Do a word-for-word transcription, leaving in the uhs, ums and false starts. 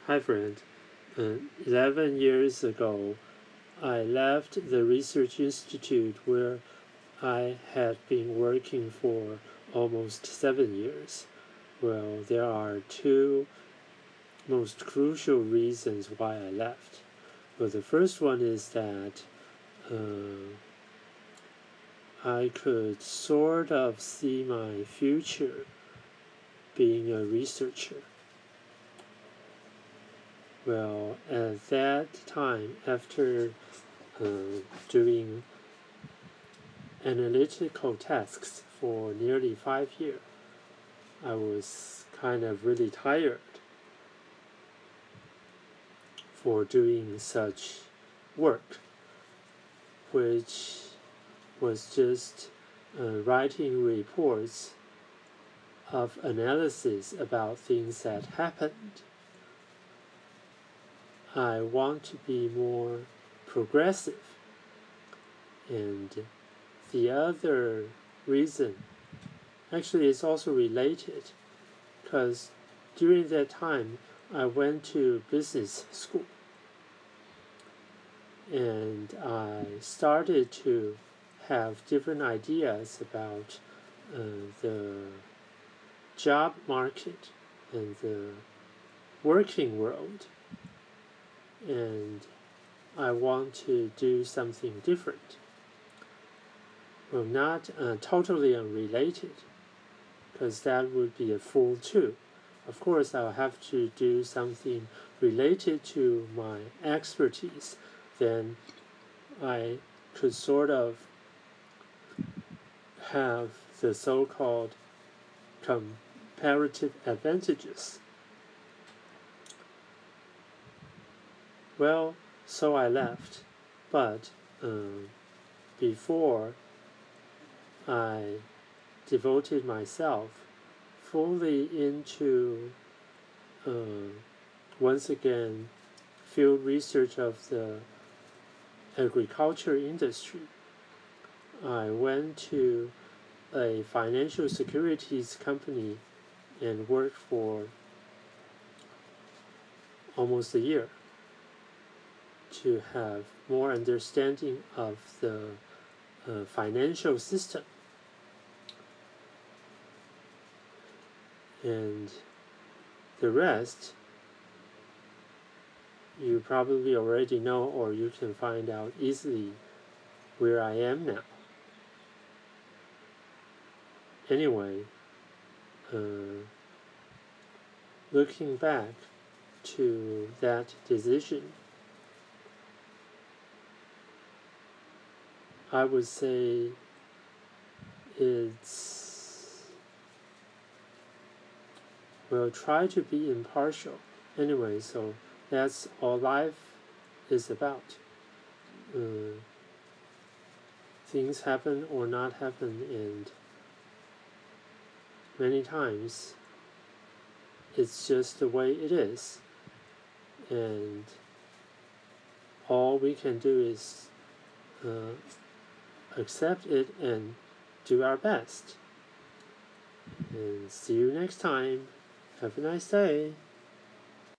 Hi, friend. Uh, Eleven years ago, I left the research institute where I had been working for almost seven years. Well, there are two most crucial reasons why I left. Well, the first one is that uh, I could sort of see my future being a researcher. Well, at that time, after uh, doing analytical tasks for nearly five years, I was kind of really tired for doing such work, which was just uh, writing reports of analysis about things that happened. I want to be more progressive. And the other reason, actually, it's also related, because during that time, I went to business school. And I started to have different ideas about uh, the job market and the working world. And I want to do something different. Well, not uh, totally unrelated, because that would be a fool too. Of course, I'll have to do something related to my expertise. Then I could sort of have the so-called comparative advantages. Well, so I left, but um, before I devoted myself fully into uh, once again field research of the agriculture industry. I went to a financial securities company and worked for almost a year to have more understanding of the uh, financial system. And the rest you probably already know, or you can find out easily where I am now. Anyway, uh, looking back to that decision, I would say it's, well, try to be impartial. Anyway, so that's all life is about. Uh, things happen or not happen, and many times it's just the way it is. And all we can do is uh, accept it and do our best. And see you next time. Have a nice day.